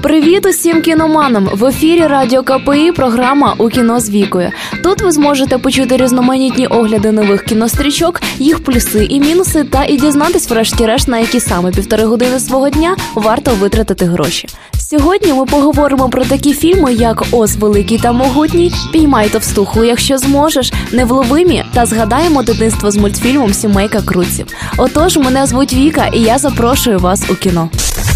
Привіт усім кіноманам! В ефірі Радіо КПІ програма «У кіно з Вікою». Тут ви зможете почути різноманітні огляди нових кінострічок, їх плюси і мінуси, та і дізнатись врешті-решт, на які саме 1,5 години свого дня варто витратити гроші. Сьогодні ми поговоримо про такі фільми, як «Оз великий та могутній», «Піймай товстуху, якщо зможеш», «Невловимі» та згадаємо дитинство з мультфільмом «Сімейка Крудсів». Отож, мене звуть Віка і я запрошую вас у кіно.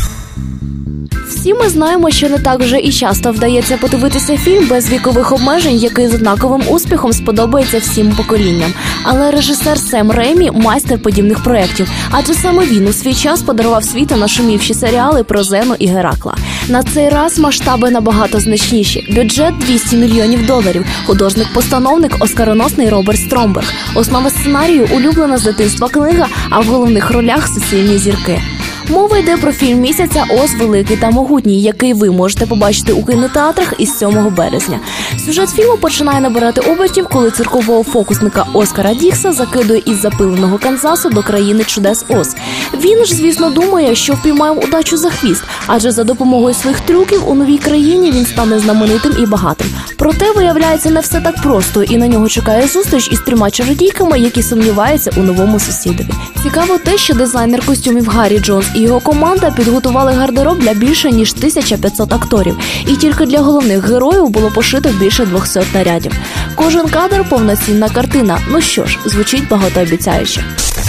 Всі ми знаємо, що не так вже і часто вдається подивитися фільм без вікових обмежень, який з однаковим успіхом сподобається всім поколінням. Але режисер Сем Реймі – майстер подібних проєктів, адже саме він у свій час подарував світу нашумівші серіали про Зену і Геракла. На цей раз масштаби набагато значніші. Бюджет – $200 мільйонів, художник-постановник – оскароносний Роберт Стромберг. Основа сценарію – улюблена з дитинства книга, а в головних ролях – суцільні зірки. Мова йде про фільм місяця «Оз великий та могутній», який ви можете побачити у кінотеатрах із 7 березня. Сюжет фільму починає набирати обертів, коли циркового фокусника Оскара Дікса закидує із запиленого Канзасу до країни чудес Оз. Він ж, звісно, думає, що впіймав удачу за хвіст, адже за допомогою своїх трюків у новій країні він стане знаменитим і багатим. Проте, виявляється, не все так просто, і на нього чекає зустріч із 3 чародійками, які сумніваються у новому сусідові. Цікаво те, що дизайнер костюмів Гаррі Джонс і його команда підготували гардероб для більше ніж 1500 акторів. І тільки для головних героїв було пошито більше 200 нарядів. Кожен кадр – повноцінна картина. Ну що ж, звучить багатообіцяюче.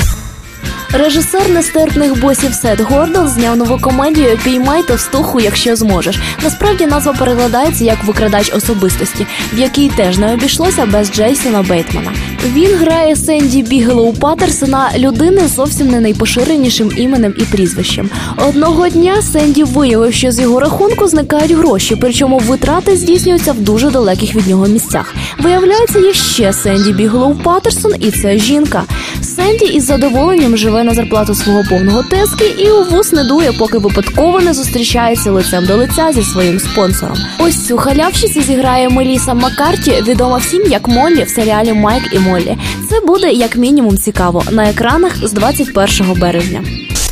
Режисер «Нестерпних босів» Сет Гордон зняв нову комедію «Піймай товстуху, якщо зможеш». Насправді назва перекладається як «Викрадач особистості», в якій теж не обійшлося без Джейсона Бейтмана. Він грає Сенді Бігелоу Паттерсона, людини з зовсім не найпоширенішим іменем і прізвищем. Одного дня Сенді виявив, що з його рахунку зникають гроші, причому витрати здійснюються в дуже далеких від нього місцях. Виявляється, є ще Сенді Бігелоу Паттерсон, і це жінка. Сенді із задоволенням живе на зарплату свого повного тезки і у вус не дує, поки випадково не зустрічається лицем до лиця зі своїм спонсором. Ось цю халявщицю зіграє Меліса Маккарті, відома всім як Моллі в серіалі «Майк і Моллі». Це буде як мінімум цікаво на екранах з 21 березня.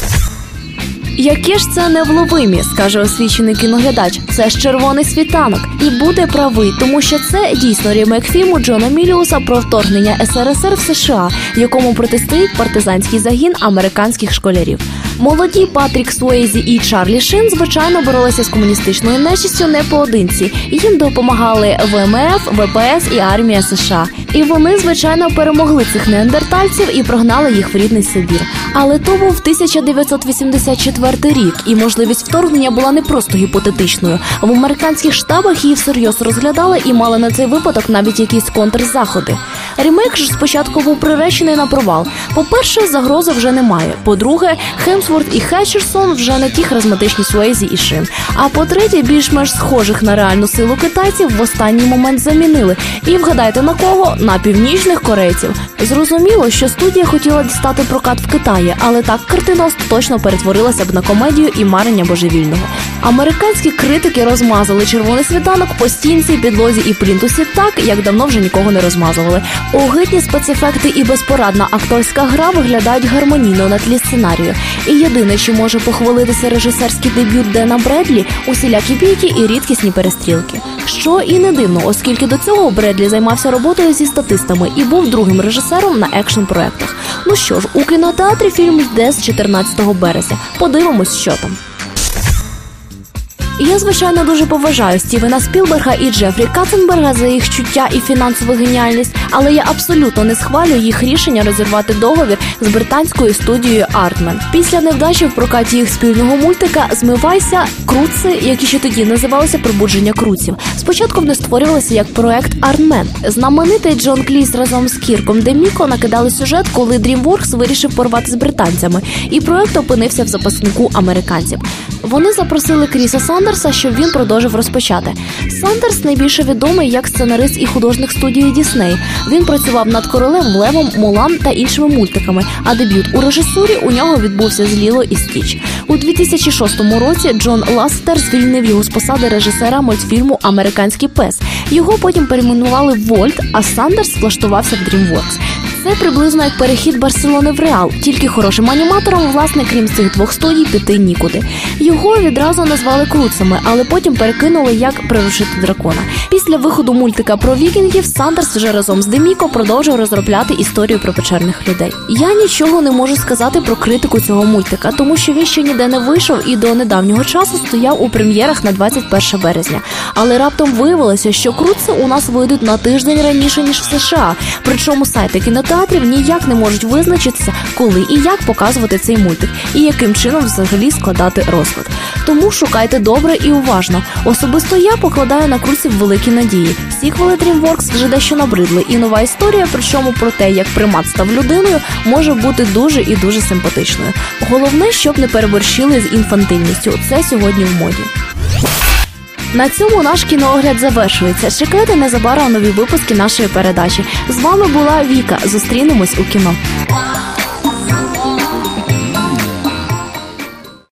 Яке ж це «Невловимі», скаже освічений кіноглядач. Це ж «Червоний світанок». І буде правий, тому що це дійсно ремейк фільму Джона Міліуса про вторгнення СРСР в США, якому протистоїть партизанський загін американських школярів. Молоді Патрік Суейзі і Чарлі Шин, звичайно, боролися з комуністичною нечистю не поодинці. Їм допомагали ВМФ, ВПС і армія США. І вони, звичайно, перемогли цих неандертальців і прогнали їх в рідний Сибір. Але то був 1984 рік, і можливість вторгнення була не просто гіпотетичною. В американських штабах її всерйоз розглядали і мали на цей випадок навіть якісь контрзаходи. Ремейк ж спочатку був приречений на провал. По-перше, загрози вже немає. По-друге, Хемсворт і Хетчерсон вже не ті харизматичні Суейзі і Шин. А по-третє, більш-менш схожих на реальну силу китайців в останній момент замінили. І вгадайте на кого? На північних корейців. Зрозуміло, що студія хотіла дістати прокат в Китаї, але так картина остаточно перетворилася б на комедію і марення божевільного. Американські критики розмазали «Червоний світанок» по стінці, підлозі і плінтусі так, як давно вже нікого не розмазували. Огидні спецефекти і безпорадна акторська гра виглядають гармонійно на тлі сценарію. І єдине, що може похвалитися режисерський дебют Дена Бредлі – усілякі бійки і рідкісні перестрілки. Що і не дивно, оскільки до цього Бредлі займався роботою зі статистами і був другим режисером на екшн-проектах. Ну що ж, у кінотеатрі фільм йде з 14 березня. Подивимось, що там. Я, звичайно, дуже поважаю Стівена Спілберга і Джефрі Катценберга за їх чуття і фінансову геніальність, але я абсолютно не схвалюю їх рішення розірвати договір з британською студією Aardman. Після невдачі в прокаті їх спільного мультика «Змивайся» Крудси, які ще тоді називалися «Пробудження Крудсів», спочатку вони створювалися як проект Aardman. Знаменитий Джон Кліс разом з Кірком Деміко накидали сюжет, коли DreamWorks вирішив порвати з британцями, і проект опинився в запаснику американців. Вони запросили Кріса Сандерса, щоб він продовжив розпочати. Сандерс найбільше відомий як сценарист і художник студії Дісней. Він працював над «Королем Левом», «Мулан» та іншими мультиками, а дебют у режисурі у нього відбувся з «Ліло і Стіч». У 2006 році Джон Ластер звільнив його з посади режисера мультфільму «Американський пес». Його потім перейменували в «Вольт», а Сандерс влаштувався в DreamWorks. Це приблизно як перехід Барселони в Реал, тільки хорошим аніматорам, власне, крім цих двох студій, піти нікуди. Його відразу назвали Круцами, але потім перекинули як «Приручити дракона». Після виходу мультика про вікінгів Сандерс вже разом з Деміко продовжив розробляти історію про печерних людей. Я нічого не можу сказати про критику цього мультика, тому що він ще ніде не вийшов і до недавнього часу стояв у прем'єрах на 21 березня. Але раптом виявилося, що Круци у нас вийдуть на тиждень раніше, ніж в США. Причому сайти кінотеатрів ніяк не можуть визначитися, коли і як показувати цей мультик, і яким чином взагалі складати розклад. Тому шукайте добре і уважно. Особисто я покладаю на Круців великі надії. Сіквели DreamWorks вже дещо набридли, і нова історія, причому про те, як примат став людиною, може бути дуже і дуже симпатичною. Головне, щоб не переборщили з інфантильністю. Це сьогодні в моді. На цьому наш кіноогляд завершується. Чекайте незабаром нові випуски нашої передачі. З вами була Віка. Зустрінемось у кіно.